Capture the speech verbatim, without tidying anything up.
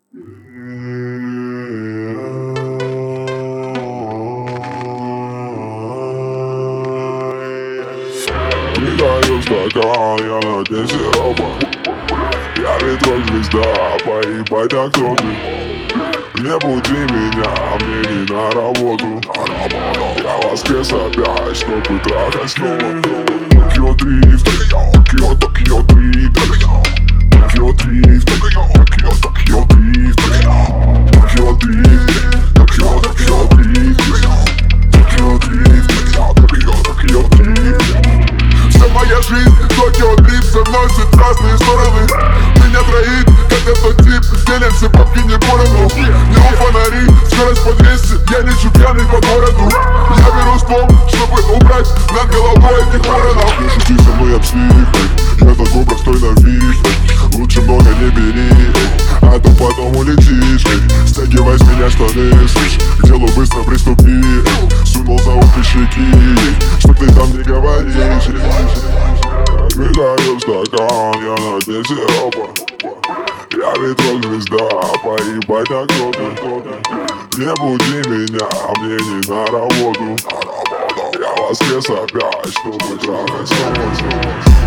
Придаю стакан, я на дне сиропа. Я ретро-звезда, поебать, а кто ты? Не буди меня, мне не на работу. Я воскрес опять, чтобы трахать снова. Токио дрифт, Токио, Токио дрифт, Токио дрифт, Токио, Токио дрифт, Токио дрифт, Токио, Токио дрифт, Токио дрифт, Токио, Токио дрифт. Вся моя жизнь, Токио дрифт, со мной все в разные стороны. Меня троит, как этот тип, делимся бабки не поровну. Не у фонари, скорость по двести, я не пьяный по городу. Я беру ствол, чтобы убрать над головой этих воронов. Не шути со мной об психой, я такой простой на вид. Лучше много не бери, а то потом улетишь. Стягивай с меня штаны, слышь, к делу быстро приступи. Сунул за ухо щеки, что ты там не говоришь. Открываю стакан, я на дне сиропа. Я ретро-звезда, поебать, а кто ты? Не буди меня, мне не на работу. Я воскрес опять, чтобы трахать снова.